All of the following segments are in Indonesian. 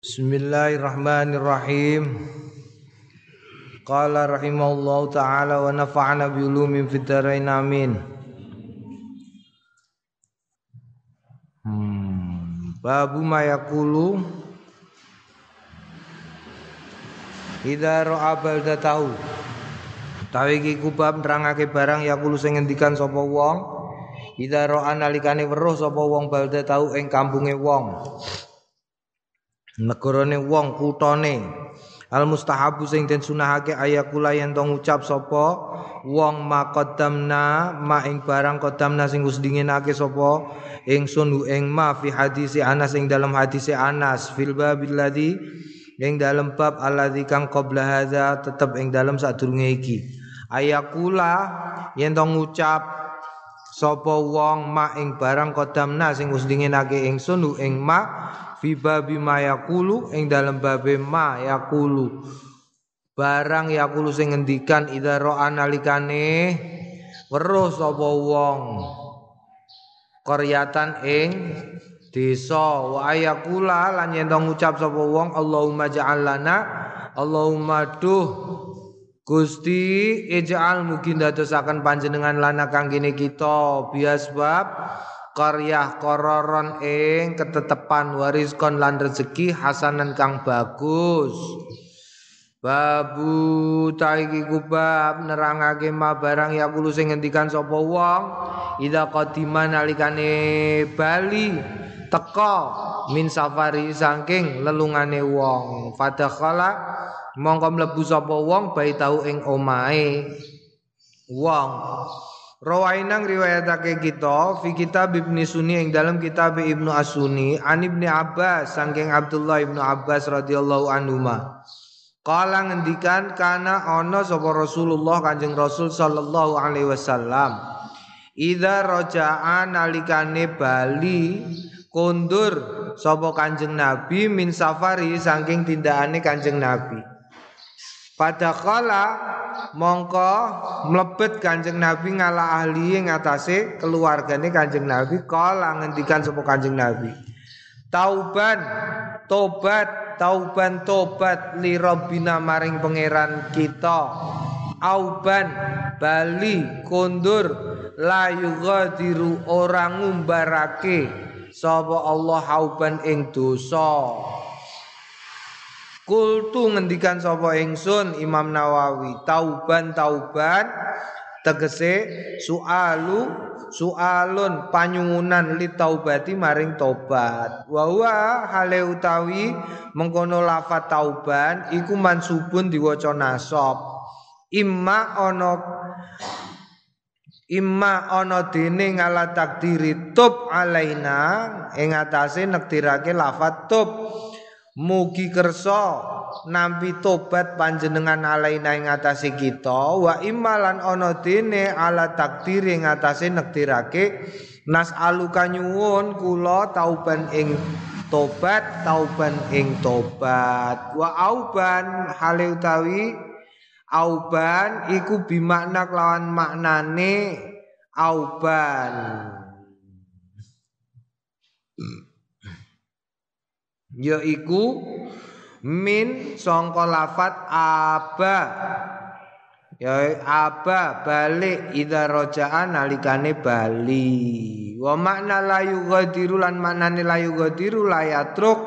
Bismillahirrahmanirrahim. Qala rahimahullahu ta'ala wa nafa'ana bi ulumin fid dharain amin. Babu ma yaqulu idza ra'a baldatahu. Tawi iki kubab nerangake barang yaqulu sing ngendikan sapa wong idza ra'a nalikane weruh sapa wong baldatahu ing kampunge wong. Negarane wong kutane al mustahabu sing den sunahake ayakula yen to ngucap sapa wong maqaddamna ma ing barang qaddamna sing wis dinginake sapa ingsun ing ma fi hadisi Anas ing dalam hadisi Anas fil babil ladzi ing dalam bab alladzi kang qabla hadza tetep ing dalam sadurunge iki ayakula yen to ngucap sapa wong ma ing barang qaddamna sing wis dinginake ingsun ing ma fi babi ma yaqulu ing dalem babe ma yaqulu barang yaqulu sing ngendikan idza ra'a nalikane weruh sapa wong qaryatan ing desa wa ayaqula lan yen ngucap sapa wong Allahumma ja'al lana Allahumma duh Gusti ij'al mugi ndadosaken panjenengan lana kanggene kita bias bab qaryah kororon ing ketetepan wariskon lan rezeki hasanan kang bagus. Babu taiki kubab nerangake ma barang yaqulu sing ngendikan sapa wong idza qadima nalikane bali teka min safari saking lelungane wong fadakhala mongko mlebu sapa wong baitau ing omahe wong. Rawainang riwayatake kita fi kitab Ibnu Sunni ing dalam kitab Ibnu As-Sunni an Ibnu Abbas saking Abdullah Ibnu Abbas radhiyallahu anhuma. Kala ngendikan kana ana sapa Rasulullah Kanjeng Rasul sallallahu alaihi wasallam. Idza raja'a nalikane bali kondur sapa Kanjeng Nabi min safari saking tindakane Kanjeng Nabi. Padakala mongko mlebet Kanjeng Nabi ngala ahli ngatasé keluargane Kanjeng Nabi kala ngendikan sapa Kanjeng Nabi tauban tobat li rabbina maring pangeran kita auban bali kondur la yughadiru ora ngumbarake sapa Allah auban ing dosa. Kultu ngendikan sapa ingsun Imam Nawawi tauban tegese sualun panyuwunan li taubati maring tobat wa huwa hale utawi mengkono lafat tauban iku mansubun diwaca nasab imma ana dene ngala takdiri tub alaina ing atase nektirake lafat tub mugi kersa nampi tobat panjenengan alaina ing atase kita wa imalan ana dene ala takdir ing atase nektirake nas'aluka nyuwun kula tauban ing tobat wa auban hale utawi auban iku bimakna kelawan maknane auban yaiku min sangka lafat aba balik idza raja'an nalikane bali wa makna la yughadiru lan maknane la yughadiru la yatruk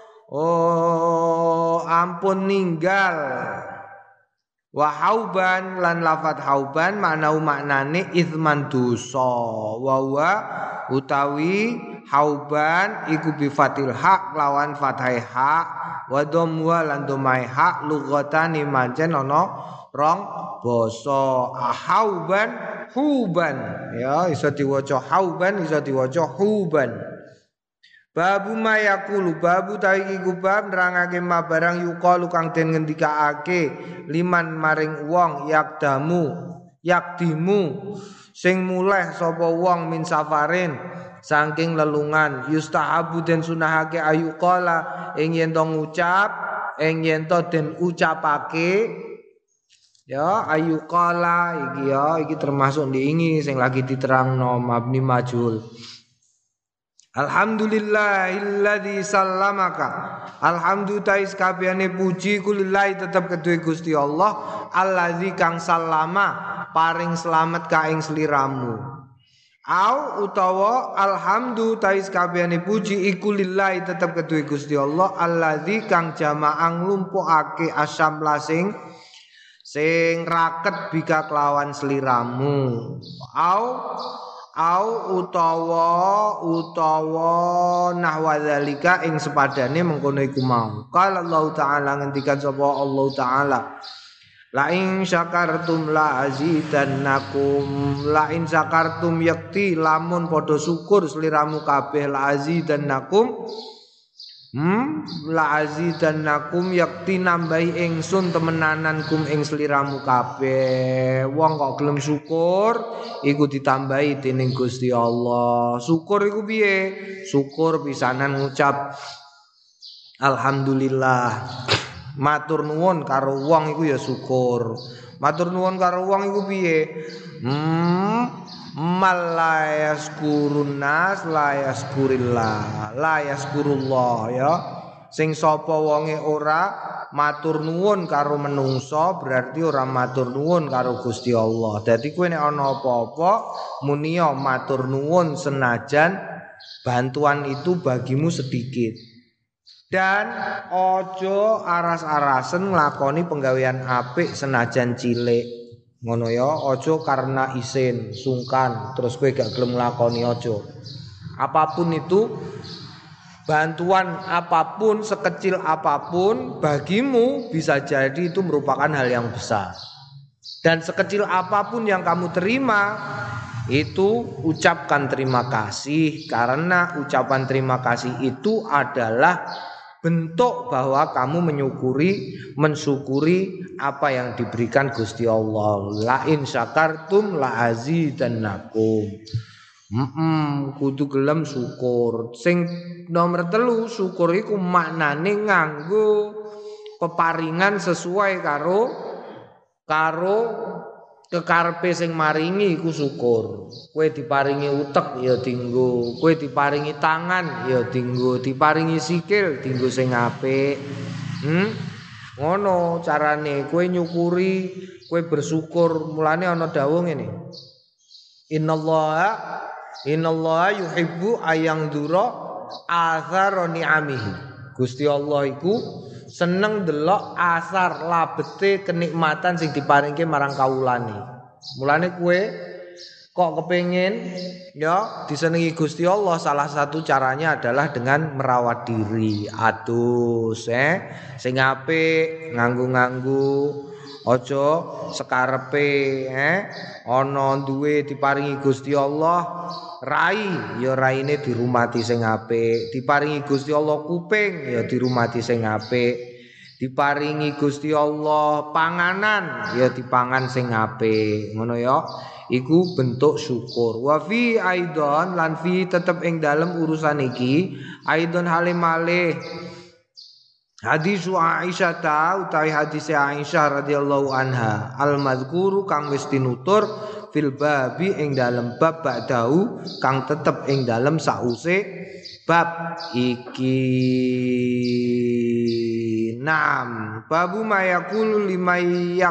ampun ninggal wa hauban lan lafat hauban maknane izman dosa wa utawi hauban iku bi fatil haq lawan fathai haq wa dhamma lan dhammai haq lughatani mancen ana rong basa hauban huban ya iso diwaca hauban iso diwaca huban. Babu mayakulu babu taiki kubab nerangake ma barang yuqalu kang den ngendikaake liman maring wong yakdimu sing muleh sapa wong min safarin saking lelungan yustahabu den sunahake ayuqala ing yen to ngucap ing yen to den ucapake ya ayuqala iki termasuk diingi sing lagi diterangno mabni majul Alhamdulillahilladzi sallamaka. Alhamdulillah kabehane puji kulillahi tetep kedue Gusti Allah alladzi kang sallama paring selamat ka ing sliramu. Au utawa alhamdulillah kabehane puji iku lillahi tetep kedue Gusti Allah alladzi kang jamaang nglumpukake asyamla sing raket bika kelawan sliramu. Au utawa nahwa zalika ing sepadane mengkono iku mau. Qala Allah taala ngendikan sapa Allah taala la in syakartum la azidannakum la in syakartum yakti lamun padha syukur sliramu kabeh la azidannakum la azidannakum yakti nambahi ingsun temenanankum ing sliramu kabeh. Wong kok gelem syukur iku ditambahi dening Gusti Allah. Syukur iku piye? Syukur pisanan ngucap alhamdulillah. Matur nuwun karo wong iku ya syukur. Matur nuwun karo wong iku piye? Malayaskurun nas layaskurillah layaskurullah ya. Sing sapa wonge ora matur nuwun karo menungso berarti ora matur nuwun karo Gusti Allah. Dadi kowe nek ana apa-apa muni matur nuwun senajan bantuan itu bagimu sedikit. Dan ojo aras-arasen nglakoni penggawean apik senajan cilik. Ngono ya, ojo karena isin, sungkan, terus kowe gak gelem nglakoni ojo. Apapun itu, bantuan apapun, sekecil apapun bagimu bisa jadi itu merupakan hal yang besar. Dan sekecil apapun yang kamu terima itu ucapkan terima kasih, karena ucapan terima kasih itu adalah bentuk bahwa kamu mensyukuri apa yang diberikan Gusti Allah. La in syakartum la azidannakum. Kudu gelem syukur. Sing nomor 3 syukur iku maknane nganggo peparingan sesuai karo kekarepe sing maringi iku syukur. Kowe diparingi utek ya dienggo, kowe diparingi tangan ya dienggo, diparingi sikil dienggo sing apik. Ngono carane kowe nyukuri, kowe bersyukur. Mulane ana dawuh ngene. Innallaha yuhibbu ayangdura athara ni'amihi. Gusti Allah iku seneng delok asar labete kenikmatan sing diparingke marang kawulane. Mulane kowe kok kepengin ya disenengi Gusti Allah, salah satu caranya adalah dengan merawat diri. Adus sing apik nganggo aja sekarepe ana duwe diparingi Gusti Allah rai ya raine dirumati sing apik, diparingi Gusti Allah kuping ya dirumati sing apik, diparingi Gusti Allah panganan ya dipangan sing apik. Ngono ya, iku bentuk syukur. Wa fi aidon lan fi tetep ing dalem urusan iki aidon halimale hadis Aisyah utawi hadis Aisyah radhiyallahu anha al-madzkuru kang wis tinutur fil babi ing dalem bab ba'dahu kang tetep ing dalem sause bab iki. Naam babu mayakul liman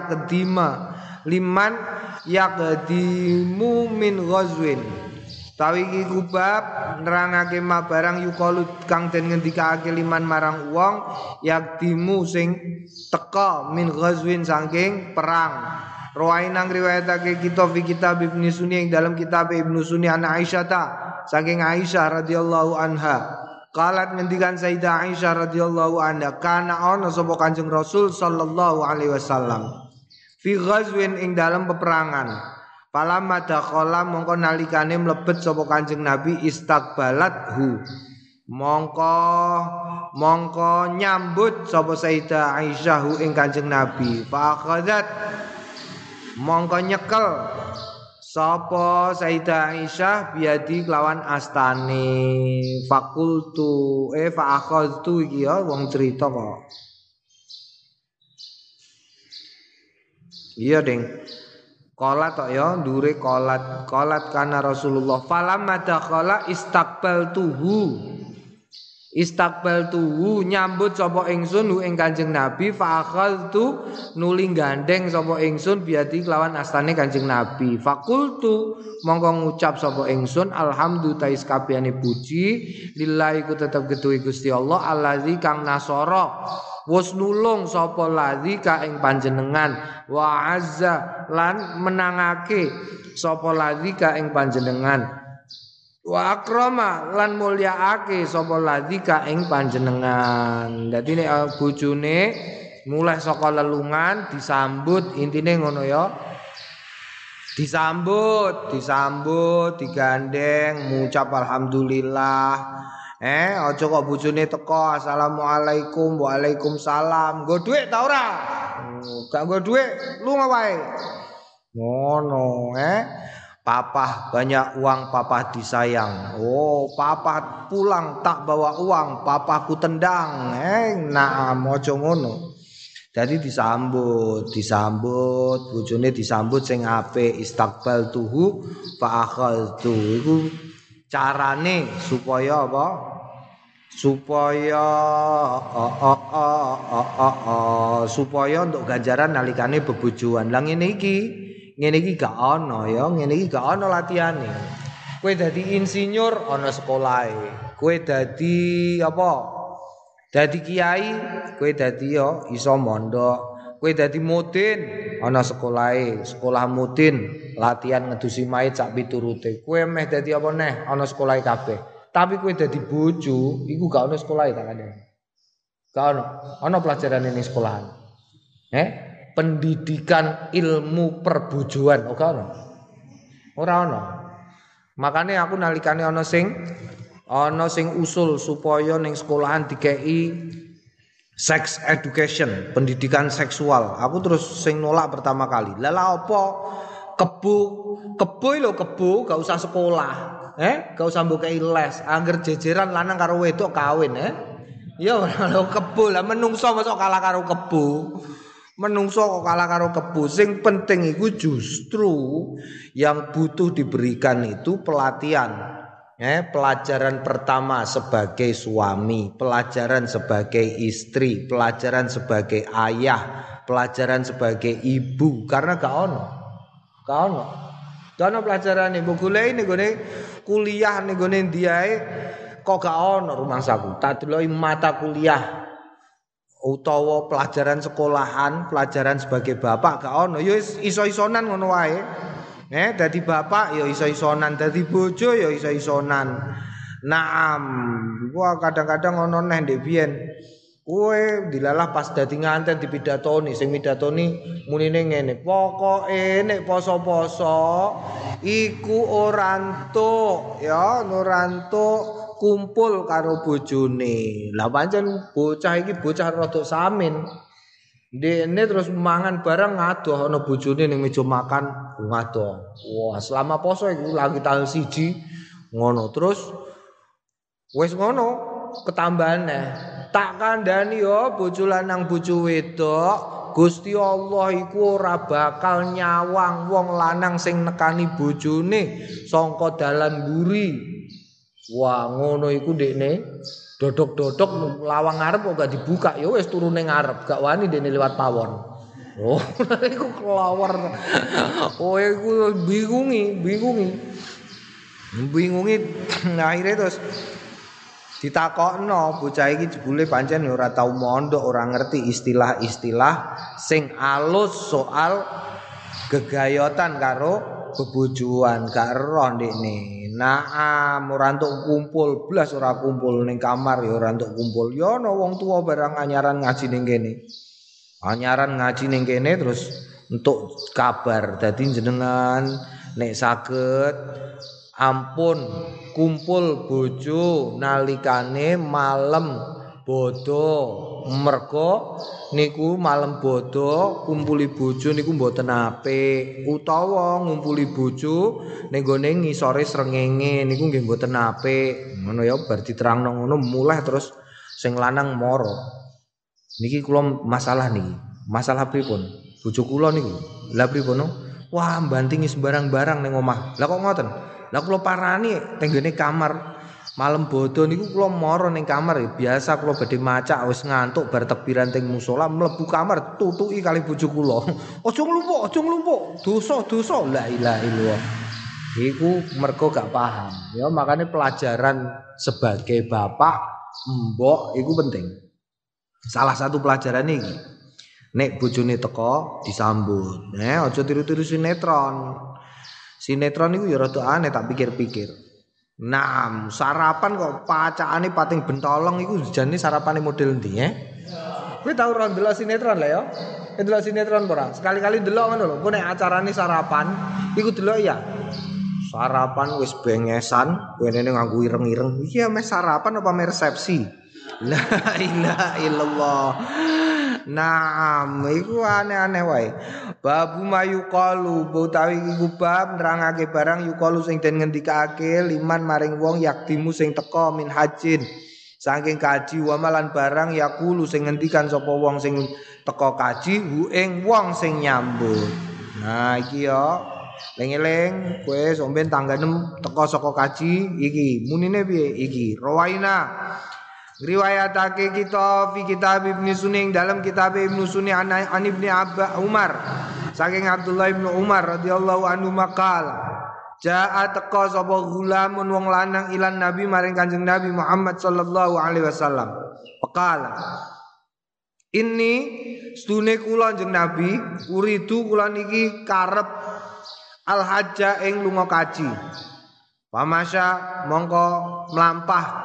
yaqdimu min ghazwin. Tawi iki kubab nerangake barang yukalu kang den ngendikake liman marang wong yaqdimu sing teka min ghazwin saking perang. Rawainang riwayatake kita fi kitab Ibnu Sunni ing dalam kitab Ibnu Sunni ana Aisyah saking Aisyah radhiyallahu anha. Qalat ngendikan Sayyidah Aisyah radhiyallahu anha kana ana sapa Kanjeng Rasul sallallahu alaihi wasallam fi ghazwin ing dalam peperangan. Falamma dakhala mongko nalikane mlebet sapa Kanjeng Nabi istaqbalathu mongko nyambut sapa Sayyidah Aisyah ing Kanjeng Nabi. Fa akhadzat mongko nyekel sapa Sayyidah Aisyah biadi kelawan astane. Fakultu fa akhadztu iki ya wong cerita kok. Iya, Ding. Qolat tok ya ndure qolat kana Rasulullah falamma dakhala istaqbaltuhu nyambut sapa ingsun hu ing Kanjeng Nabi fa akhadtu nuli gandeng sapa ingsun biati kelawan astane Kanjeng Nabi fakultu mongko ngucap sapa ingsun alhamdulillah kabehane puji lillahi ku tetep gedhe Gusti Allah allazi kang nasara wis nulung sapa ladzi ka ing panjenengan wa azza lan menangake sapa ladzi ka ing panjenengan wa akrama lan mulyaake sapa ladzi ka ing panjenengan. Dadi nek bojone mulai saka lelungan disambut intine ngono ya. Disambut, digandeng, ngucap alhamdulillah. Aja kok bojone teko assalamualaikum waalaikumsalam. Nggo dhuwit ta ora? Gak nggo dhuwit, lunga wae. Ngono, Papa banyak uang, papa disayang. Oh, papa pulang tak bawa uang, papaku tendang. Naam aja ngono. Jadi disambut, bojone disambut sing apik istaqbaltuhu fa akhadtu. Iku carane supaya apa? Supaya untuk ganjaran nalikane bebojoan. Lah ngene iki gak ana ya, ngene iki gak ana latihane. Kowe dadi insinyur ana sekolahe. Kowe dadi apa? Dadi kiai, kowe dadi ya iso mondok. Kowe dadi mudin ana sekolahe, sekolah mudin, latihan ngedusi mayit sak piturute. Kowe meh dadi apa neh ana sekolahe kabeh. Tapi kowe dadi bojo, iku gak ana sekolahe tak kandhani. Gak ana. Ana pelajaran ning sekolahan. Pendidikan ilmu perbojoan ora ana. Makane aku nalikane ana sing usul supaya ning sekolahan dikei sex education, pendidikan seksual. Aku terus sing nolak pertama kali. Lah apa kebo gak usah sekolah. Gak usah mbok kei les, angger jejeran lanang karo wedok kawin, Ya ora kebo lah menungso mosok kalah karo kebo. Menungso kok kalah karo kebo. Sing penting iku justru yang butuh diberikan itu pelatihan. Pelajaran pertama sebagai suami, pelajaran sebagai istri, pelajaran sebagai ayah, pelajaran sebagai ibu. Karena gak ono. Gak ono pelajaran nih. Goleki ning kuliah ning gone ndiae kok gak ono rumangsaku. Tak deloki mata kuliah utawa pelajaran sekolahan, pelajaran sebagai bapak gak ono. Ya iso-isonan ngono wae. Dadi bapak ya iso-isonan, dadi bojo ya iso-isonan. Naam, gua kadang-kadang ono neh ndek biyen. Kowe dilalah pas dadi nganten dipidatoni, sing midatoni munine ngene. Pokoke nek poso-poso iku ora entuk kumpul karo bojone. Lah pancen bocah iki bocah rada samin. Dene terus mangan barang ngadoh ana bojone ning meja makan ngadoh. Wah, selama poso iku lagi tanggal 1 ngono. Terus wis ngono ketambane. Tak kandhani ya bojo lanang bojo wedok, Gusti Allah iku ora bakal nyawang wong lanang sing nekani bojone saka dalan mburi. Wah, ngono iku ndekne dodok-dodok lawang ngarep kok gak dibuka ya wis turu ning ngarep, gak wani dene liwat pawon. Oh, iku kelawar. Oh, iku bingungi. Akhire terus ditakokno bocah iki jebule pancen ora tau mondok, ora ngerti istilah-istilah sing alus soal gegayotan karo bebojoan, gak roh ndekne. Naam ora entuk kumpul, blas ora kumpul ning kamar ya ora entuk kumpul. Ya ana wong tuwa barang anyaran ngaji ning kene. Anyaran ngaji ning kene terus entuk kabar. Dadi jenengan nek saged ampun kumpul bojo nalikane malam bodo, mergo niku malam bodo kumpuli bojo niku mboten apik, utawa ngumpuli bojo ning gone ngisore srengenge niku nggih mboten apik. Ngono ya bar diterangno ngono mulai terus sing lanang mara. Niki kula masalah niki. Masalah pripun? Bojo kula niku. Lah pripun? Wah, bantingi sembarang-barang ning omah. Lah kok ngoten? Lah kula parani teng gene kamar. Malam bodo niku kula mara ning kamar ya. Biasa kula badhe macak wis ngantuk bar tekbiran teng musala mlebu kamar tutuki kali bojo kula. Aja nglumpuk. Dosa. La ilaha illallah. Iku mergo gak paham. Ya makanya pelajaran sebagai bapak, mbok iku penting. Salah satu pelajaran iki. Nek bojone teko disambut. Aja tiru-tiru sinetron. Sinetron iku ya rada aneh tak pikir-pikir. Nah, sarapan kok pacakane pating bentolong iku jane sarapane model ndi Kowe tau ora ndelok sinetron lah ya? Ndelok sinetron ora? Sekali-kali ndelok ngono lho. Kowe nek acarane sarapan iku delok ya. Sarapan wis bengesan, kene nganggo ireng-ireng. Iki meh sarapan apa meh resepsi? La ilaha illallah. Nah, iku aneh-aneh wae. Babu mayuqalu, utawi iku bab nerangake barang yuqalu sing den ngendikake liman maring wong yaktimu sing teka min hajin. Saking kaji wa malan barang yaqulu sing ngendikan sapa wong sing teka kaji hu ing wong sing nyambut. Nah, iki ya. Eling-eling kowe somben tangga 6 teka saka kaji iki. Munine piye iki? Rawaina riwayatake kita fi kitab Ibnu Sunni dalam kitab Ibnu Sunni an Ibnu Umar saking Abdullah Ibnu Umar radhiyallahu anhu maqal jaa teka sapa gulamun wong lanang ilan nabi maring Kanjeng Nabi Muhammad sallallahu alaihi wasallam faqala inni stune kula Kanjeng Nabi uridu kula niki karep al hajja ing lunga kaji pamasya mongko mlampah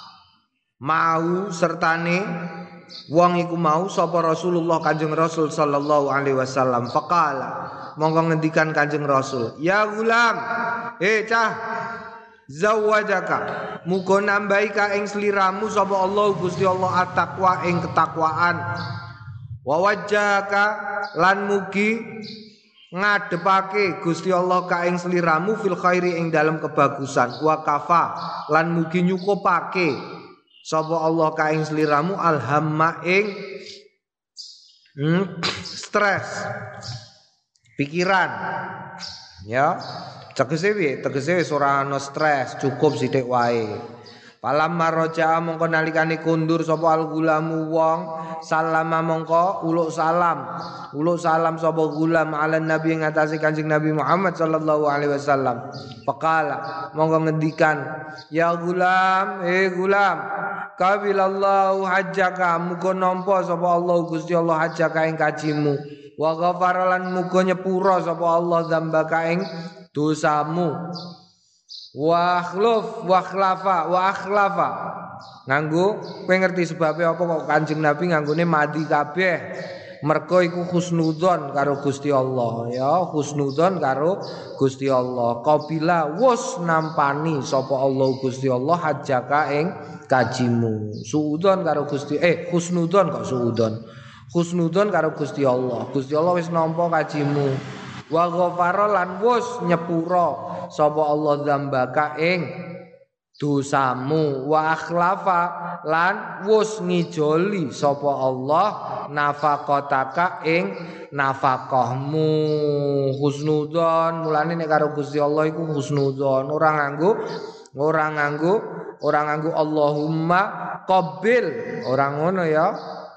mau sertane wong iku mau sapa Rasulullah Kanjeng Rasul sallallahu alaihi wasallam faqala monggo ngendikan Kanjeng Rasul ya gulam cah zawajaka muga nambahi ka ing sliramu sapa Allah Gusti Allah at-taqwa ing ketakwaan wa wajjaka lan mugi ngadepake Gusti Allah ka ing sliramu fil khairi ing dalam kebagusan wa kafa lan mugi nyukupake sapa Allah ka ing sliramu alhamma ing stres pikiran ya tegese piye tegese wis ora ana stres cukup sithik wae palam maroja mongko nalikane kundur sapa al-gulamu wong salama mongko uluk salam sapa gulam ala nabi ing atase Kanjeng Nabi Muhammad sallallahu alaihi wasallam faqala mongko ngendikan ya gulam gulam qabilallahu hajjaka muga nampa sapa Allah Gusti Allah hajjaka ing kajimu wa ghafara lan muga nyepura sapa Allah dzambaka ing dosamu wa akhlafa nganggo kowe ngerti sebabe apa kok Kanjeng Nabi nganggone mati kabeh mergo iku husnudzon karo Gusti Allah ya husnudzon karo Gusti Allah qabila wus nampani sapa Allah Gusti Allah hajjaka ing kajimu suudzon karo Gusti husnudzon kok husnudzon karo Gusti Allah wis nampa kajimu wa ghafara lan wus nyepura sapa Allah dzambaka ing dosamu wa akhlafa lan wus ngijoli sapa Allah nafaqataka ing nafaqahmu husnudzon mulane nek karo Gusti Allah iku husnudzon ora nganggo Allahumma qabil ora ngono ya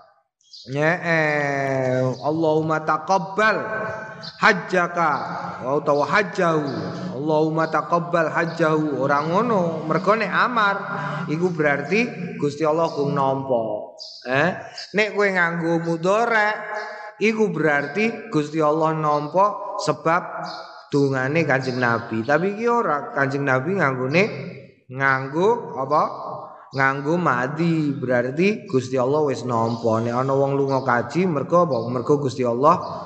Allahumma taqabbal hajjaka utawa hajjahu Allahumma taqabbal hajjahu ora ngono mergo nek amar iku berarti Gusti Allah kung nampa nek kowe nganggo mudhari iku berarti Gusti Allah nampa sebab dungane Kanjeng Nabi tapi iki ora Kanjeng Nabi nganggo apa nganggo madi berarti Gusti Allah wis nampa nek ana wong lunga kaji mergo apa mergo Gusti Allah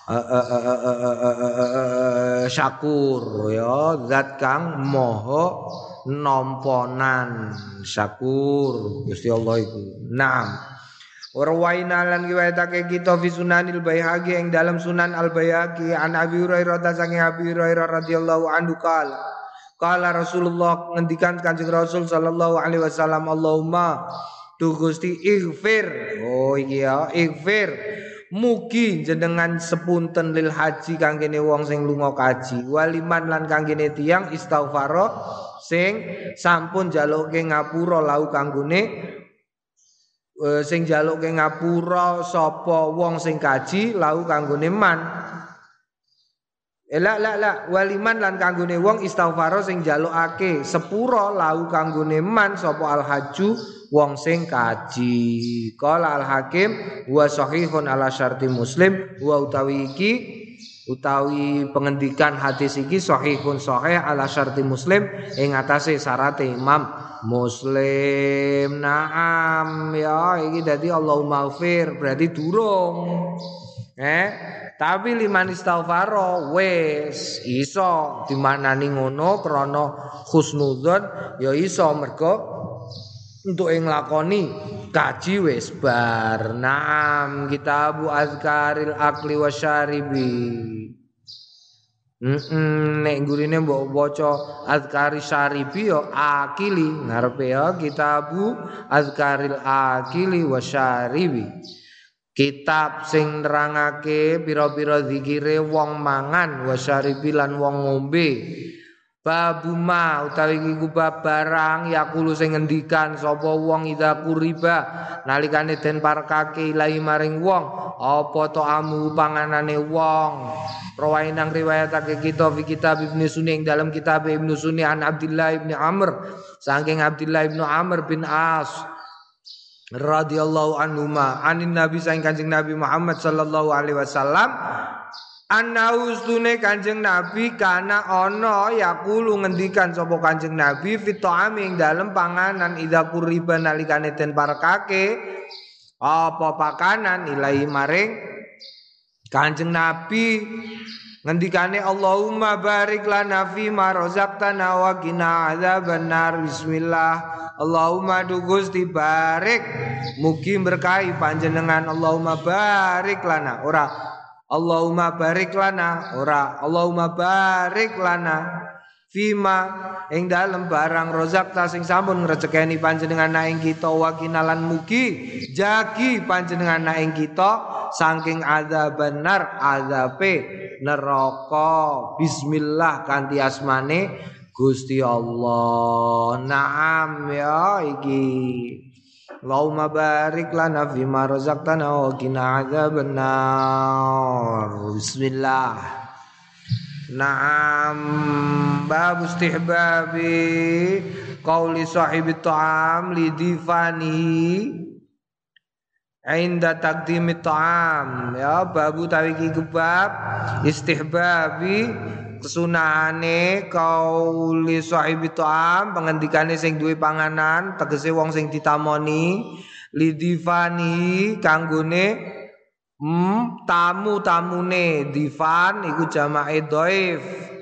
syakur ya zat kang maha namponan syakur Gusti Allah iku naam warwaina lan riwayatake kita fi sunanil Baihaqi ing dalam sunan al Baihaqi an Abi Hurairah saking Abi Hurairah radhiyallahu anhu kala Rasulullah ngendikan Kanjeng Rasul sallallahu alaihi wasallam Allahumma tu Gusti ighfir oh iya ighfir mugi jenengan sepunten lil haji kanggene wong sing lunga kaji waliman lan kanggene tiyang istighfara sing sampun njaluke ngapura lau kanggone sing njaluke ngapura sapa wong sing kaji lau kanggone man la waliman lan kanggone wong istighfara sing njalukake sepura lau kanggone man sapa al haju wong sing kaji. Qala al hakim wa sahihun ala syarti muslim wa utawi iki utawi pengendikan hadis iki sahihun sahih ala syarti muslim ing atase syarate Imam Muslim. Naam ya iki dadi Allahumma ghfir berarti durung tapi liman istighfara wis iso dimaknani ngono krana husnudzon ya iso mergo untuk yang lakoni kaji wis bar. Naam kitabu azkaril akli wasyaribi. Nek gurine mbok waca azkari syaribi yo akili ngarepe ya kitabu azkaril akili wasyaribi. Kitab sing nerangake pira-pira zikire wong mangan wasyaribi lan wong ngombe. Babuma utawi iku bab barang yakulu sing ngendikan sapa wong ida kuriba nalikane den parekake ilahi maring wong apa to amu panganane wong rawainang riwayatake kita fi kitab Ibnu Sunni ing dalam kitab Ibnu Sunni an Abdullah bin Amr saking Abdullah bin Amr bin As radhiyallahu anhuma anin nabi saking Kanjeng Nabi Muhammad sallallahu alaihi wasallam Anaustune Kanjeng Nabi kana ana yaqulu ngendikan sapa Kanjeng Nabi fitoami ing dalem panganan idza kuriba nalikane den parekake apa pakanan ilahi maring Kanjeng Nabi ngendikane Allahumma barik lana fi ma razaqtana wa qina adzabannar bismillah Allahumma du Gusti barik mugi berkahi panjenengan Allahumma barik lana ora Allahumma barik lana ora Allahumma barik lana fima ing dalem barang rozakta sing sampun ngrejekeni panjenengan ing kita wa kinalan mugi jagi panjenengan ing kita saking adzabannar azabe neraka bismillah kanthi asmane Gusti Allah. Naam ya iki Allahumma barik lana fima razaqtana wa qina adzabannar. Bismillah. Naam bab istihbabi qauli sahibi ta'am li difani inda taqdimi ta'am ya babu tawiki kebab istihbabi kesunahane qauli sahibi ta'am pengendikane sing duwe panganan tegese wong sing ditamoni lidifani kanggone tamu-tamune difan iku jamake dhaif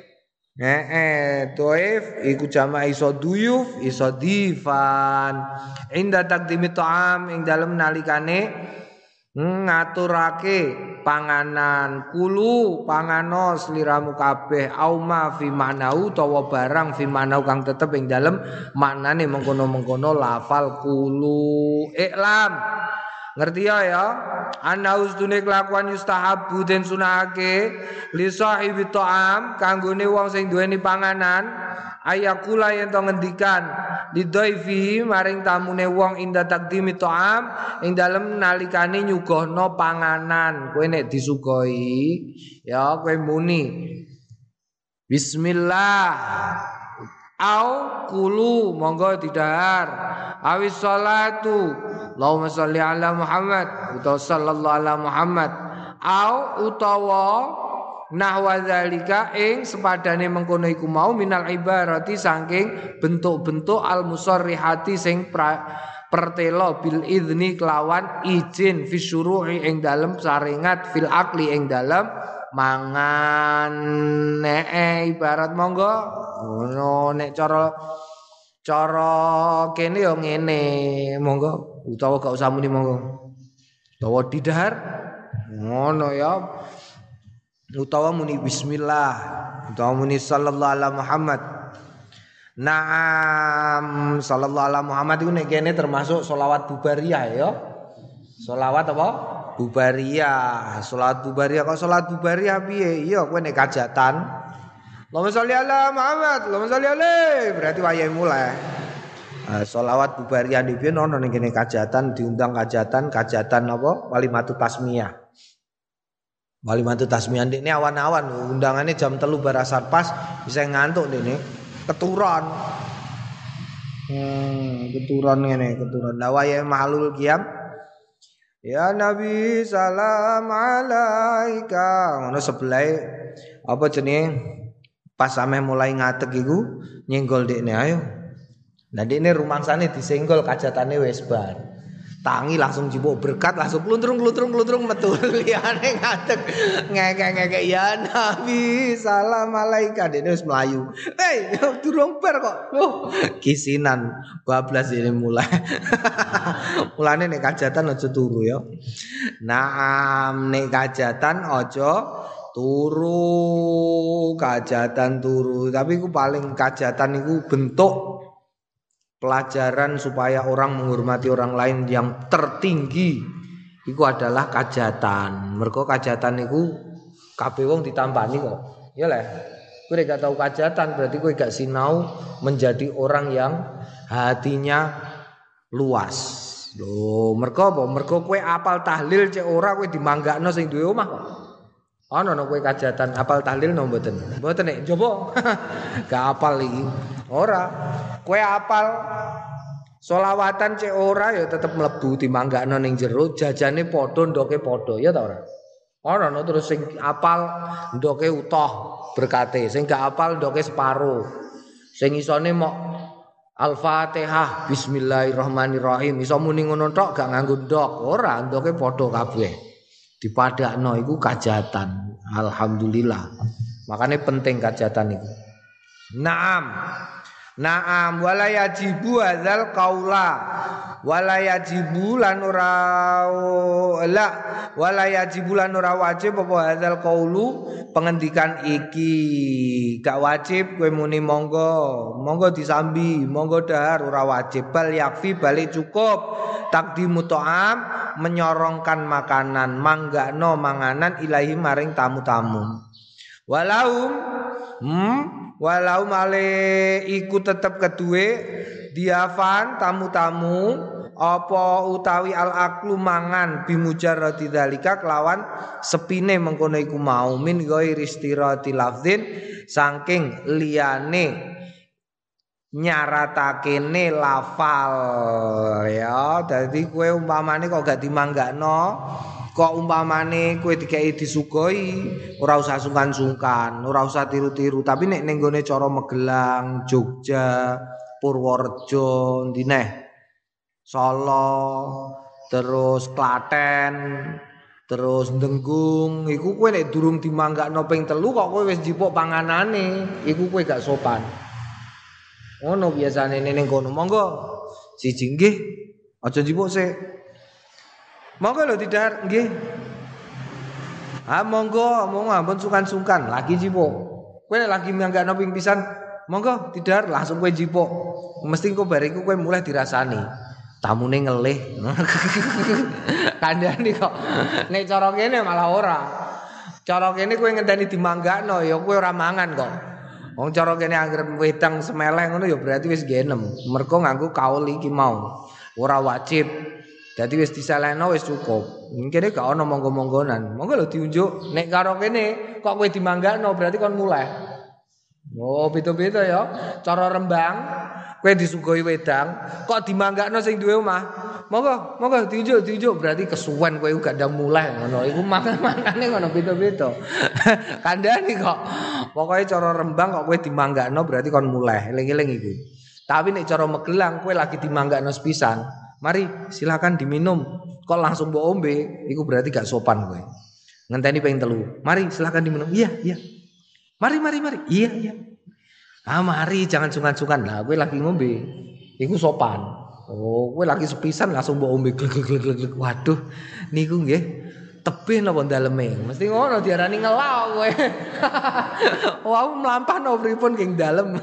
dhaif iku jamake iso duyuf iso difan inda taqdimi ta'am ing dalem nalikane ngaturake panganan kulu pangano sliramu kabeh auma fi manau utawa barang fi manau kang tetep ing dalem maknane mengkono-mengkono lafal kulu iklam ngerti ya ana ustune kelakuan yustahabu den sunahake li sahibi ta'am kanggone wong sing duweni panganan ayakula yen to ngendikan lidhaifi maring tamune wong inda taqdimi ta'am ing dalem nalikane nyuguhno panganan kowe nek disugoi ya kowe muni bismillah au kulu monggo didahar awis salatu Allahumma sholli ala Muhammad utawa sallallahu ala Muhammad au utawa nahwa zalika ing sepadane mengkono iku mau minal ibarati saking bentuk-bentuk al musarrihati sing pertelo bil idzni kelawan izin fi syuru'i ing dalem saringat fil akli ing dalem mangan ibarat monggo ngono nek cara kene yo ngene monggo utawa gak usah muni monggo utawa didahar ngono ya utawa muni bismillah utawa muni sallallahu alaihi Muhammad. Naam sallallahu alaihi Muhammad itu nek kene termasuk sholawat bubariyah ya. Sholawat apa? Bubariyah. Salat bubariyah kok salat bubariyah piye? Iya kowe nek kajatan. Allahumma sholli ala Muhammad, Allahumma sholli alaihi. Berarti wayahe mulai. Sholawat bubariyah iki ono ning kene kajatan diundang kajatan apa? Walimatut tasmiyah. Walimatut tasmiyah ini awan-awan undangannya jam 3 barasar pas bisa ngantuk ini keturon. Keturon ngene, keturon. La wayahe mahlul qiyam. Ya Nabi salam alaika. Ngono sebelah apa jenenge pas sampe mulai ngatek iku nyenggol dekne ayo. Lah dekne rumangsane disenggol kajatane wis bar. Tangi langsung jipuk berkat langsung kluntrung metu liyane ngatek ngekek ya Nabi salam alaika dekne wis mlayu. Durung bar kok. Kisinan bablas ini mulai. Mulane nek kajatan aja turu ya. Naam nek kajatan aja turu, kajatan turu. Tapi iku paling kajatan iku bentuk pelajaran supaya orang menghormati orang lain yang tertinggi. Iku adalah kajatan. Mergo kajatan iku kabeh wong ditampani kok. Ya le. Kowe gak tau kajatan berarti kowe gak sinau menjadi orang yang hatinya luas. Lho, mergo apa? Mergo kowe apal tahlil cek ora kowe dimanggakno sing duwe omah kok. Ana kowe kajatan apal tahlil no mboten? Mboten nek coba. Gak apal iki. Ora. Kowe apal selawatan cek ora ya tetep mlebu dimanggakno ning jero jajane padha ndoke padha ya ta ora? Ana terus sing apal ndoke utuh berkate, sing gak apal ndoke separo. Sing isone mok Al-Fatihah Bismillahirrahmanirrahim iso muni ngono tok gak nganggo ndok ora ndoke padha kabeh dipadakno iku kajatan alhamdulillah makane penting kajatan iku Naam wala yajibu hadzal qaula wala yajibu lan ora wajib apa hadzal qaulu pengendikan iki gak wajib kowe muni monggo disambi monggo dahar ora wajib bal yakfi balik cukup takdimu ta'am menyorongkan makanan manggakno manganan ilahi maring tamu-tamu walau male iku tetep keduwe diafan tamu-tamu apa utawi al-aklu mangan bimujarrati dzalika kelawan sepine mengkono iku mau min ghairi istirati lafdzin saking liyane nyaratakene lafal ya dadi kowe umpamane kok gak dimanggakno kok umpamane kowe dikei disugoi ora usah sungkan-sungkan ora usah tiru-tiru tapi nek ning gone cara Magelang Jogja Purworejo ndineh Solo terus Klaten terus Denggung iku kowe nek durung dimanggakno ping 3 kok kowe wis njipuk panganane iku kowe gak sopan ngono biasane ning kono monggo siji nggih aja njipuk sik monggo lho tidak nggih. Monggo ampun sungkan-sungkan lagi jipuk. Kowe lagi manggakno ping pisan, monggo tidak langsung kowe jipuk. Mesti engko bariku kowe mulai dirasani. Tamune ngelih. Kandhane kok nek cara kene malah ora. Cara kene kowe ngenteni dimanggakno ya kowe ora mangan kok. Wong cara kene anggere wedang semeleh ngono ya berarti wis genem. Mergo nganggo kaul iki mau. Ora wajib. Dadi wis disalehno wis cukup. Kene gak ono monggo-monggonan. Monggo lho diunjuk nek karo kene kok kowe dimanggakno berarti kon muleh. Oh, beda-beda ya. Cara Rembang kowe disugoi wedang kok dimanggakno sing duwe omah. Monggo diunjuk berarti kesuwen kowe gak ndang muleh ngono. Iku makane ngono beda-beda. Kandhani kok. Pokoke cara Rembang kok kowe dimanggakno berarti kon muleh. Eling-eling iku. Tapi nek cara Magelang kowe lagi dimanggakno sepisan. Mari silakan diminum. Kok langsung mbok ombe, iku berarti gak sopan kowe. Ngenteni ping 3. Mari silakan diminum. Iya. Mari. Iya. Mari jangan sungkan-sungkan. Lah kowe lagi ngombe. Iku sopan. Oh, kowe lagi sepisan langsung mbok ombe glek. Waduh, niku nggih tebih napa daleme. Mesti ngono diarani ngelak kowe. Wau mlampahno pripun king dalem.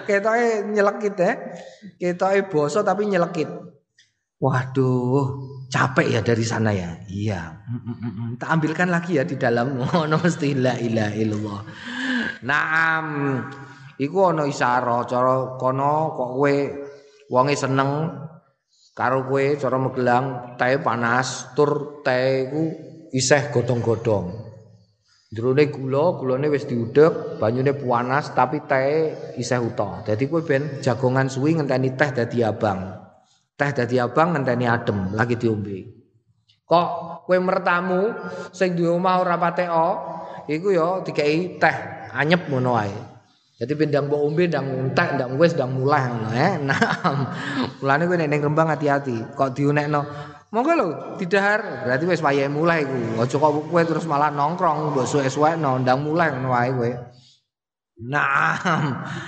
Ketoke nyelekit Ketoke basa tapi nyelekit. Waduh, capek ya dari sana ya. Iya. Tak ambilkan lagi ya di dalam ono mesti la ilaha illallah. Naam. Iku ono isara cara kono kok kowe wonge seneng karo kowe cara Magelang teh panas tur teh iku isih godhong-godhong. Jerone gulane wis diudhek, banyune panas tapi teh isih utuh. Dadi kowe ben jagongan suwi ngenteni teh dadi abang. Teh dadi abang ngenteni adem lagi diombe. Kok kowe mertamu sing duwe omah ora pateka, iku ya dikei teh anyep ngono wae. Jadi ndang mbok ombe ndang entek ndang wis ndang mulai ngono Nah, mulane kowe nek ning Rembang hati-hati. Kok diunekno monggo lho didahar berarti wis wayahe mulai iku. Aja kok kowe terus malah nongkrong mbok suwe-suwekno ndang mulai ngono wae kowe. Naam.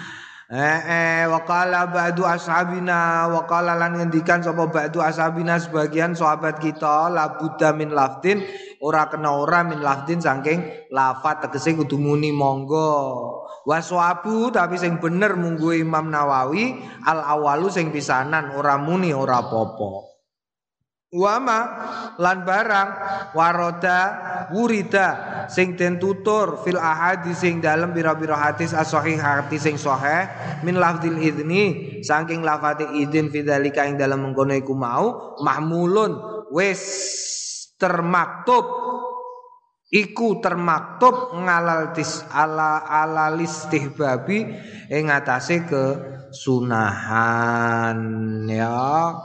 Waqala ba'du ashabina waqala lan ngendikan sapa ba'du ashabina sebagian sahabat kita la budda min lafdin ora kena ora min lafdin saking lafat tegese kudu muni monggo waswabu tapi sing bener munggu Imam Nawawi al awalu sing pisanan ora muni ora apa-apa wama lan barang waroda wurida sing den tutur fil ahadis sing dalem pira-pira hadis as-sahih hadis sing sahih min lafdzil idni saking lafate idin fidzalika ing dalem mengkono iku mau mahmulun wis termaktub iku termaktub ngalal tis ala listihbabi ing atase kesunahan ya.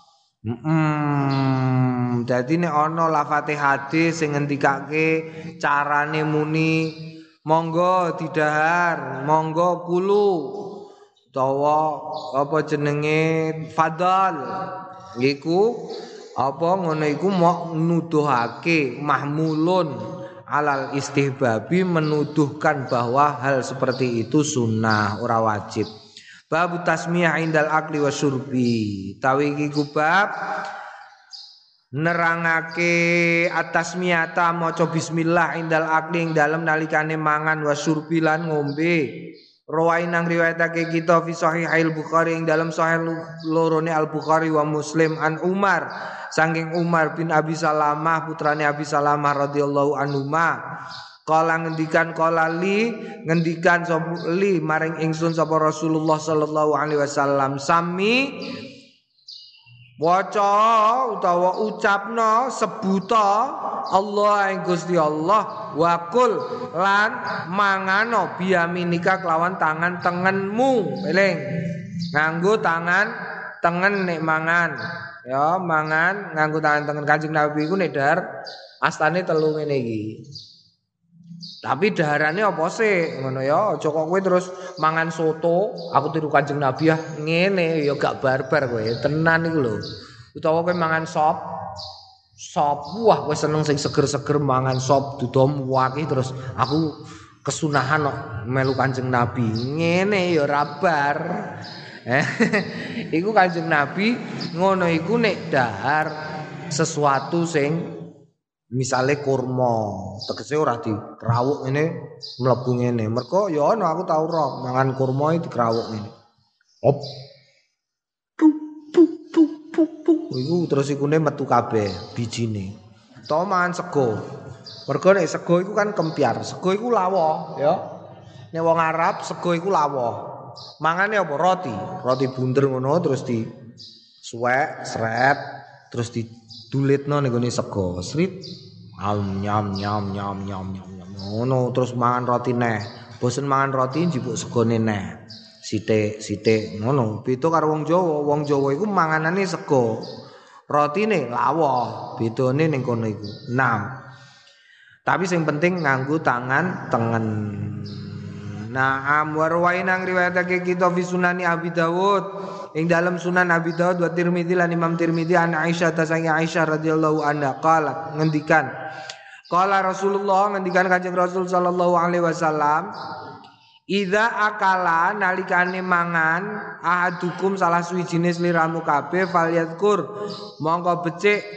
Dadi nek ana lafate hadis sing ngendikake carane muni monggo didahar, monggo kulu utawa apa jenenge fadal. Iku apa ngono iku mok nuduhake mahmulun alal istihbabi menuduhkan bahwa hal seperti itu sunnah ora wajib. Bab tasmiyah indal akli wasyurbi. Tawi iki bab nerangake atasmiyata maca bismillah indal akli ing dalem nalikane mangan wasyurbi lan ngombe. Rawain nang riwayatake kita fi sahihil Bukhari ing dalem sahih lorone Al Bukhari wa Muslim an Umar saking Umar bin Abi Salamah putrane Abi Salamah radhiyallahu anhuma. Kala ngendikan kala li ngendikan sapa li maring ingsun sapa Rasulullah sallallahu alaihi wasallam sami waca utawa ucapno sebuta Allah ing Gusti Allah wakul lan mangano biyaminika kelawan tangan tengenmu eling nganggo tangan tengen nek mangan ya mangan nganggo tangan tengen Kanjeng Nabi iku nek dahar astane telu ngene iki. Tapi daharannya apa sih? Ngono ya, aja kok kowe terus mangan soto, aku tiru Kanjeng Nabi ya ngene ya gak barbar kowe. Tenan iku lho. Utawa kowe mangan sop. Wah kowe seneng sing seger-seger mangan sop dudom waki terus aku kesunahan kok melu Kanjeng Nabi. Ngene ya ora bar. Iku Kanjeng Nabi ngono iku nek dahar sesuatu sing misale kurma, tegese ora dikrawuk ngene mlebu ngene. Mergo ya ana aku tau ro mangan kurma iki dikrawuk ngene. Op. Puk. Iku terus ikune metu kabeh bijine. Utawa mangan sego. Mergo nek sego iku kan kempiar. Sego iku lawa ya. Nek wong Arab sego iku lawa. Mangane apa roti? Roti bunder ngono terus di suwek, sret, terus didulitno ning gone sego. Srit nyam. Ngono terus mangan roti neh. Bosen mangan roti njupuk segone neh. Sithik ngono. Beda karo wong Jawa. Wong Jawa iku manganane sego. Rotine lawa. Bedane ning kono iku. 6. Tapi sing penting nganggo tangan tengen. Naam warwain ang riwayatake kita fi sunani Abi Dawud ing dalam sunan Abi Dawud wa Tirmidzi lan Imam Tirmidzi an Aisyah tasangi Aisyah radhiyallahu anha qalat ngendikan qala Rasulullah ngendikan Kanjeng Rasul sallallahu alaihi wasallam idza akala nalikane mangan ahadukum salah suwijine sliramu kabeh falyadkur mongko becik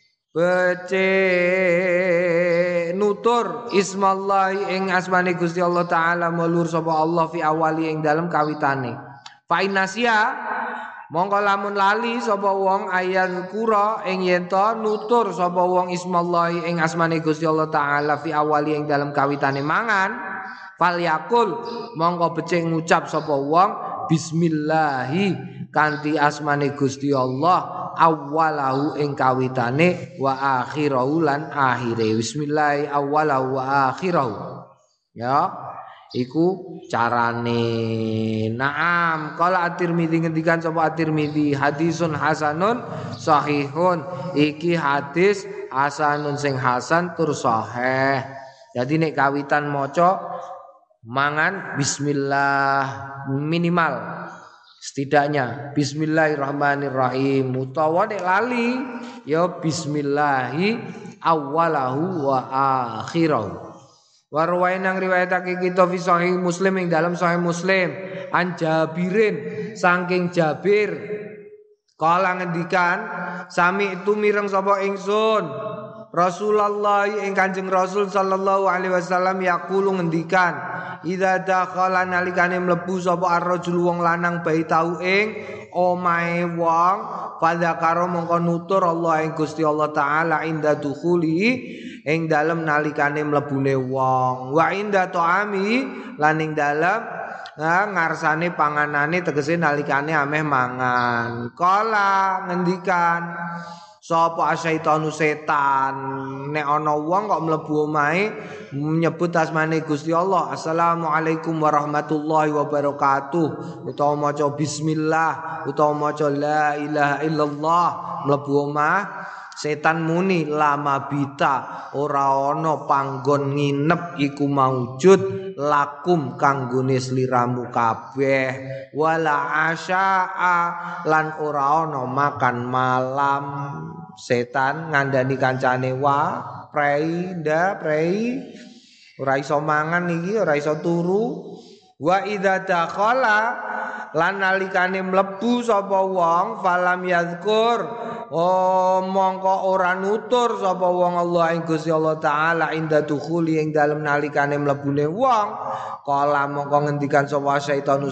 nutur ismallahi ing asmane Gusti Allah taala mulur sapa Allah fi awali ing dalem kawitane fa inasia Mongko lamun lali sapa wong ayat kura ing yen to nutur sapa wong ismallahi ing asmane Gusti Allah taala fi awali ing dalam kawitane mangan falyakul mongko becik ngucap sapa wong bismillahi kanthi asmane Gusti Allah awwalahu ing kawitane wa akhirahu lan akhire bismillahi awwalahu wa akhirahu ya iku carane. Naam qala at-Tirmidzi ngendikan sapa at-Tirmidzi hadisun hasanun sahihun iki hadis hasanun sing hasan tur sahih. Jadi nek kawitan maca mangan bismillah minimal setidaknya bismillahirrahmanirrahim utawa nek lali ya bismillahi awwalahu wa akhirahu. Warwain nang riwayatake kita fi sahih Muslim ing dalam sahih Muslim an Jabirin saking Jabir kala ngendikan sami itu mireng sapa ingsun Rasulullah ing Kanjeng Rasul sallallahu alaihi wasallam yaqulu ngendikan idza dakhala nalikane mlebu sapa ar-rajul wong lanang baitahu ing omahe wong fadzakara mongko nutur Allah ing Gusti Allah taala inda dukhuli ing dalem nalikane mlebune wong wa inda ta'ami lan ing dalem ngarsane panganane tegese nalikane ameh mangan kala ngendikan sapa asyaitanu setan nek ana wong kok mlebu omahe nyebut asmane Gusti Allah assalamualaikum warahmatullahi wabarakatuh utawa maca bismillah utawa maca la ilaha illallah mlebu omah setan muni lama bita ora ana panggon nginep iku maujud lakum kanggone sliramu kabeh wala asyaa lan ora ana makan malam. Setan ngandani kancane wa prei ora iso mangan iki ora iso turu wa idza dakhala lan nalikane mlebu sapa wong falam yazkur mongko ora nutur sapa wong Allah ing Gusti Allah taala inda dukhuli ing dalem nalikane mlebune wong kala mongko ngendikan sapa setan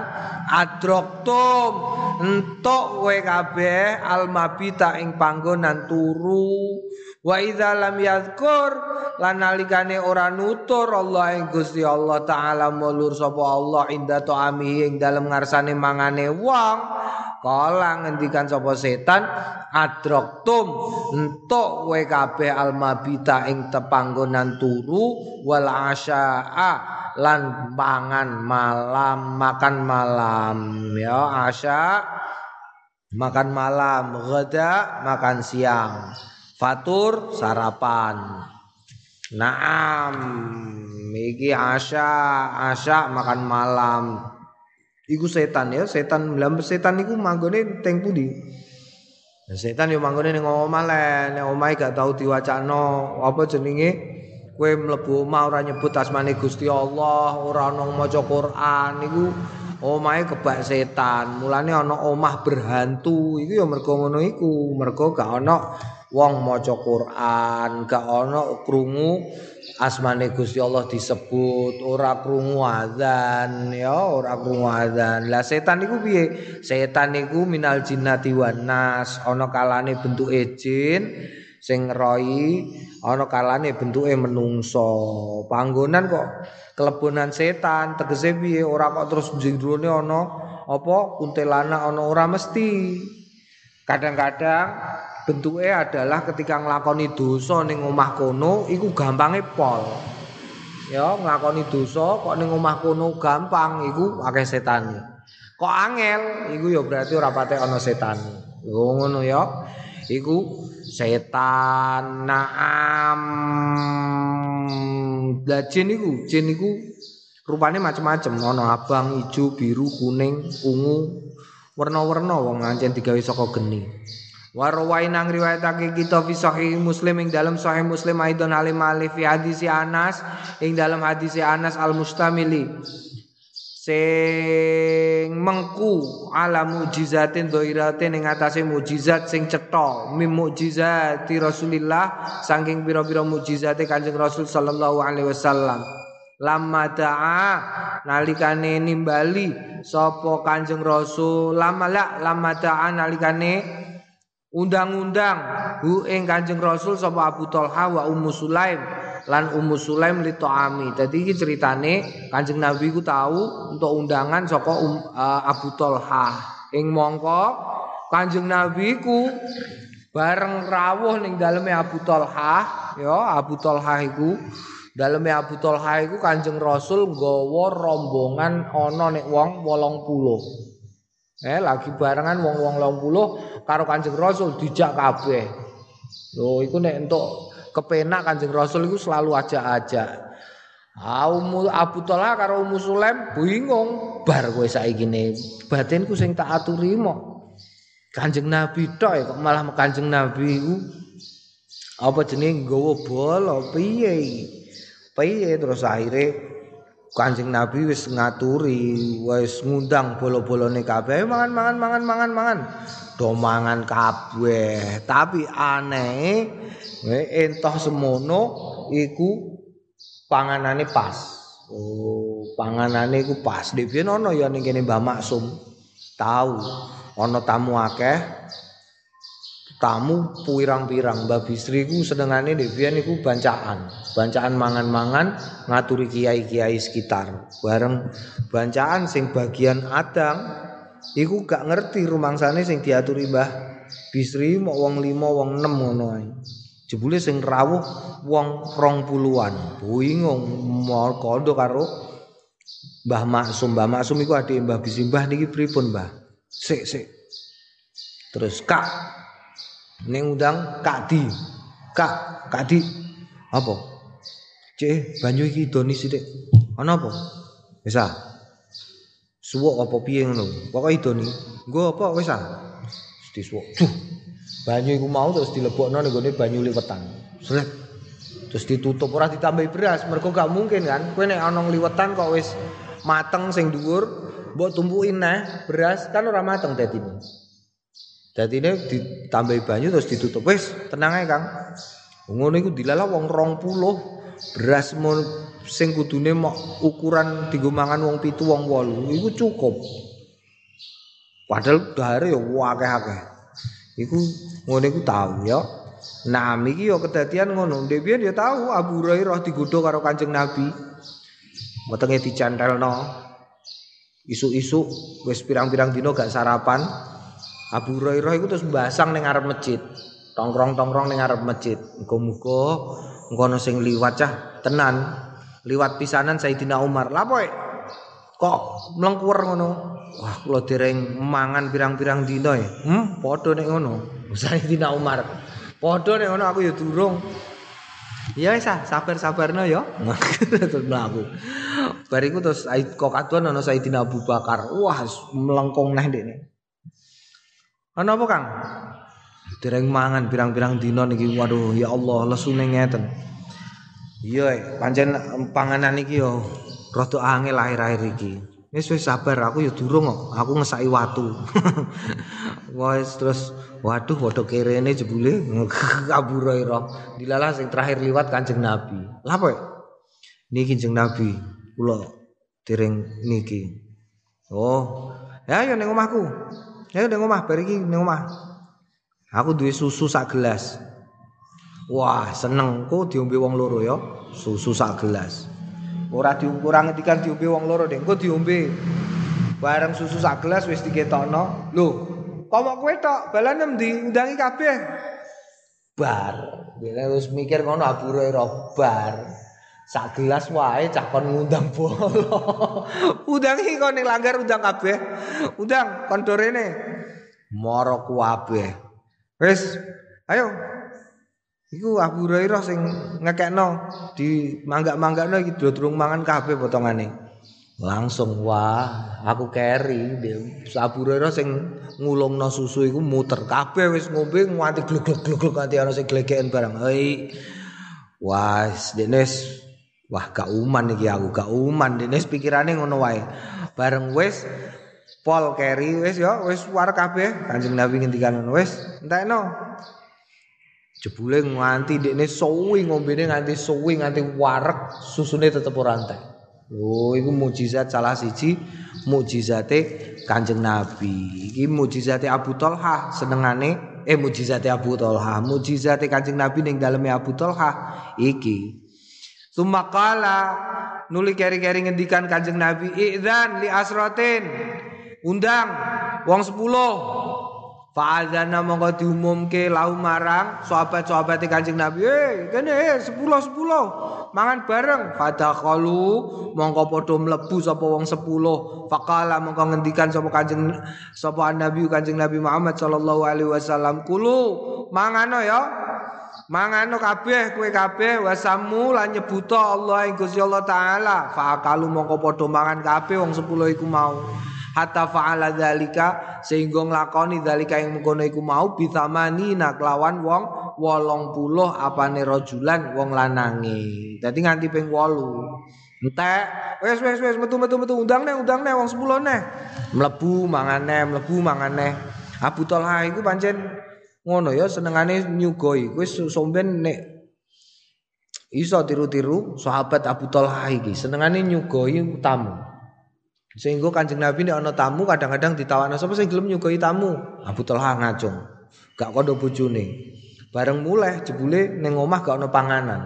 adroktum entuk kowe kabeh almabita ing panggonan turu wa idza lam yazkur lan nalikane ora nutur Allah ing Gusti Allah taala mulur sapa Allah inda ta'ami ing dalem ngarsane mangane wong kala ngendikan sapa setan adroktum entuk kowe kabeh almabita ing tepanggonan turu wal asyaa lan makan malam ya asya makan malam ghada makan siang fatur sarapan. Naam iki asya makan malam iku setan ya setan iku manggone teng pundi. Setan yo manggone ning omah le nek omahe gak tau diwacano apa jenenge kowe mlebu omah ora nyebut asmane Gusti Allah ora ana maca Quran iku omahe kebak setan. Mulane ana omah berhantu iku ya mergo ngono iku mergo gak ana wong maca Quran gak ana krungu asmane Gusti Allah disebut ora krungu azan ya ora krungu azan. Lah setan iku piye? Setan iku minal jinnati wan nas ana kalane bentuke jin sing ngeroi ana kalane bentuke menungso. Panggonan kok kelebonan setan tegese piye ora kok terus njrone ana apa kuntilanak ana ora mesti. Kadang-kadang bentuke adalah ketika nglakoni dosa ning omah kono iku gampange pol. Ya nglakoni dosa kok ning omah kono gampang iku akeh setane. Kok angel iku ya berarti ora patek ana setan. Ngono ya. Iku setan. Naam. Lah jin iku rupane macam-macam ana abang, ijo, biru, kuning, ungu, warna-warna wong ancen digawe saka geni. Warwain nang riwayatake kita fi sahih Muslim ing dalam sahih Muslim aidon alim alif fi hadis Anas ing dalam hadis Anas al-Mustamili sing mengku ala mujizatin dhairatin ing atase mujizat sing cetha mim mujizati Rasulillah saking pira-pira mujizate Kanjeng Rasul sallallahu alaihi wasallam lamma da'a nalikane nimbali sapa Kanjeng Rasul lamma da'a nalikane undang-undang ing Kanjeng Rasul sapa Abu Thalha wa Ummu Sulaim lan Ummu Sulaim li ta'ami. Dadi iki ceritane Kanjeng Nabi ku tahu untuk undangan saka Abu Thalha. Ing mongko Kanjeng Nabi ku bareng rawuh ning daleme Abu Thalha, ya Abu Thalha iku daleme Abu Thalha iku Kanjeng Rasul nggawa rombongan ana nek wong 80. Lagi barengan wong-wong 80 karo Kanjeng Rasul dijak kabeh. Lho iku nek entuk kepenak Kanjeng Rasul iku selalu ajak-ajak. Abu Thalha karo Ummu Sulaim bingung, bar kowe saiki ne batinku sing tak aturi mok. Kanjeng Nabi tok kok malah Kanjeng Nabi iku apa jenenge nggawa bola piye. Piye terus akhire Kanjeng Nabi wis ngaturi, wis ngundang bola-bolane kabeh mangan. Do mangan kabeh. Tapi aneh entah semono iku panganane pas. Oh, panganane iku pas. Dhewe ono ya ning kene Mbah Maksum. Tahu ana tamu akeh. Tamu pirang-pirang. Mbah Bisri ku senengane dhewe niku bancaan. Bancaan mangan-mangan ngaturi kiai-kiai sekitar. Bareng bancaan sing bagian adang iku gak ngerti rumangsane sing diaturi Mbah Bisri mok wong 5 wong 6 ngono ae. Jebule sing rawuh wong 20-an. Bingung mau kondo karo Mbah Maksum. Mbah Maksum iku adike Mbah Bisri. Mbah niki pripun, Mbah? Sik. Terus Kak ning undang Kak Di. Kak Di. Apa? Cek banyu iki doni sithik. Ana apa? Wis ah. Suwuk apa piye ngono. Pokoke idoni. Nggo apa wis ah. Disuwuk. Banyu iku mau terus dilebokno ning gone banyu liwetan. Sret. Terus ditutup ora ditambahi beras, mergo gak mungkin kan. Kowe nek ana liwetan kok wis mateng sing dhuwur, mbok tumpuki neh beras kan ora mateng dadine. Dadine ditambahi banyu terus ditutup. Wis, tenang ae, Kang. Ngono iku dilalah wong 20 beras sing kudune mok ukuran dienggo mangan wong 7 wong 8 iku cukup. Padahal dahare ya akeh-akeh. Iku ngono iku tahu ya. Nah, iki ya kedadian ngono. Dhewe ya tahu Abu Hurairah digodho karo Kanjeng Nabi. Wetenge dicantelno. Isuk-isuk wis pirang-pirang dina gak sarapan. Abu Hurairah iku terus mbasang ning ngarep masjid. Tongkrong-tongkrong ning ngarep masjid. Muga-muga engko ana sing liwat cah tenan. Liwat pisanan Sayyidina Umar. Lha poe kok mlengkuwer ngono. Wah, kula dereng mangan pirang-pirang dina ya. Padha nek ngono. Sayyidina Umar. Padha nek ngono aku ya durung. Ya wis sabar-sabarno ya. Terus mlaku. Bariku terus kok kaduan ana Sayyidina Abu Bakar. Wah, melengkung neh ndekne. Ana apa, Kang? Dereng mangan pirang-pirang dina niki. Waduh, ya Allah, lesune ngeten. Iya, pancen panganan iki yo rada angel akhir-akhir iki. Wis sabar, aku ya durung kok. Aku ngesaki watu. Wis terus waduh padha kerene jebule Abu Hurairah. Dilalah sing terakhir liwat Kanjeng Nabi. Lah apa? Niki Kanjeng Nabi, kula dereng niki. Oh, ya ning omahku. Ya ning omah bar iki ning omah. Aku duwe susu sak gelas. Wah, seneng kok diombe wong loro ya. Susu sak gelas. Ora ngendikan diombe wong loro, Dek. Engko diombe. Bareng susu sak gelas wis diketokno. Lho, kok mok kowe tok, balane endi? Undangi kabeh. Bar. Dene wis mikir ngono Abu Hurairah bar. Sak gelas wae cah kon ngundang bola. Undangi kon ning langgar undang kabeh. Undang kon dorene. Moro kabeh. Wis, ayo. Iku Abu Hurairah sing ngekekno di manggak-manggakno iki durung mangan kabeh potongane. Langsung wah, aku keri. Abu Hurairah sing ngulungno susu iku muter kabeh wis ngombe nganti glug-glug nganti ana sing glegeken barang. Hei. Wah, Denes. Wah, gak uman iki aku, gak uman. Denes pikirane ngono wae. Bareng wis pol keri wis ya, wis war kabeh. Kanjeng Nabi ngendikan ngono wis, entekno. Jebule nganti dekne suwi ngombene nganti suwi nganti wareg susune tetep ora entek. Lho iku mukjizat salah siji mukjizate Kanjeng Nabi. Iki mukjizate Abu Thalhah senengane mukjizate Abu Thalhah, mukjizate Kanjeng Nabi ning daleme Abu Thalhah iki. Sumakala nuli keri-keri ngendikan Kanjeng Nabi idzan li asratin undang wong 10 fa'adzana mongko diumumke lahu marang sahabat-sahabate Kanjeng Nabi kene 10 mangan bareng fadakhalu mongko padha mlebu sapa wong 10 faqala mongko ngendikan sapa Nabi Kanjeng Nabi Muhammad sallallahu alaihi wasallam kulu mangano ya mangano kabeh kowe kabeh wasamu lan nyebuta Allah ing Gusti Allah taala fa'akalu mongko padha mangan kabeh wong 10 iku mau hatta fa'ala dzalika sehingga nglakoni dzalika ing mengkono iku mau bithamani kelawan wong 80 apane rajulan wong lanange dadi nganti ping 8 entek wis metu undang neh wong 10 neh mlebu mangane Abu Thalhah iku pancen ngono ya senengane nyugoi wis somben nek iso tiru-tiru sahabat Abu Thalhah iki senengane nyugoi tamu sehingga Kanjeng Nabi nek ana tamu kadang-kadang ditawakno sapa sing gelem nyugoi tamu Abu Thalhah ngacung gak kandha bojone bareng mulih jebule ning omah gak ana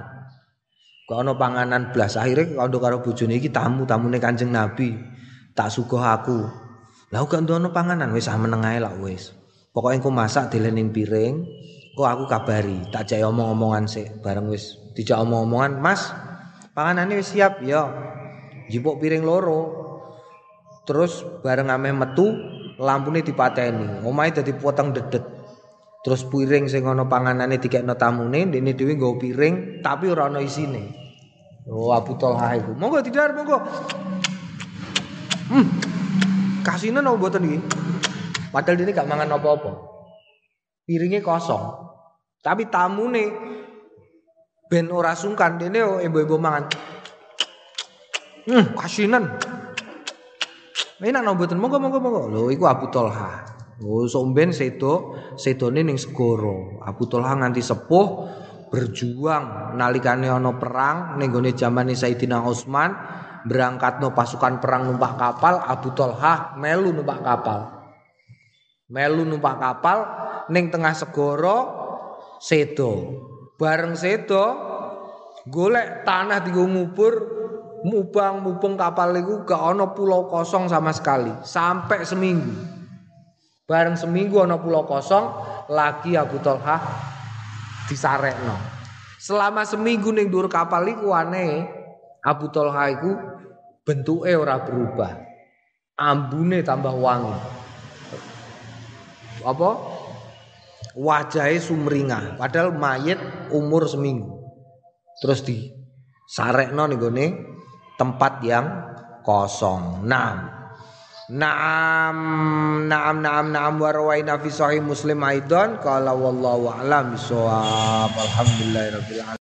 panganan blas akhire kandha karo bojone iki tamune Kanjeng Nabi tak suguh aku lha gak ana panganan wis meneng ae lak wis. Pokoknya engko masak dilening piring, kok aku kabari, tak jek omong-omongan sik, bareng wis dijak omong-omongan, "Mas, panganane wis siap." Ya. Njupuk piring loro. Terus bareng ameh metu, lampune dipateni. Omahe dadi poteng dedet. Terus piring sing ana panganane dikekno tamune, ndekne dhewe nggawa piring tapi ora ana isine. Oh, Abu Thalhah iku. Monggo didhar, monggo. Kasinen apa mboten iki? Padahal dene gak mangan apa-apa. Piringnya kosong. Tapi tamune ben ora sungkan dene embo-embo mangan. Kasinan. Enak no mboten monggo. Lho iku Abu Thalhah. Oh somben sedone ning segara. Abu Thalhah nganti sepuh berjuang nalikane ana perang ning gone jamane Sayyidina Utsman berangkatno pasukan perang numpak kapal. Abu Thalhah melu numpak kapal ning tengah segara sedo. Bareng sedo golek tanah dienggo ngubur mubang kapal iku gak ana pulau kosong sama sekali sampai seminggu. Bareng seminggu ana pulau kosong lagi Abu Thalhah disarekno. Selama seminggu ning dhuwur kapal iku aneh Abu Thalhah iku bentuke ora berubah. Ambune tambah wangi. Apa wajahnya sumringah padahal mayit umur seminggu terus disarekno ning gone tempat yang kosong. Naam wa rawaina fi sahih Muslim aidan qala wallahu a'lam bissawab alhamdulillahirabbil alamin.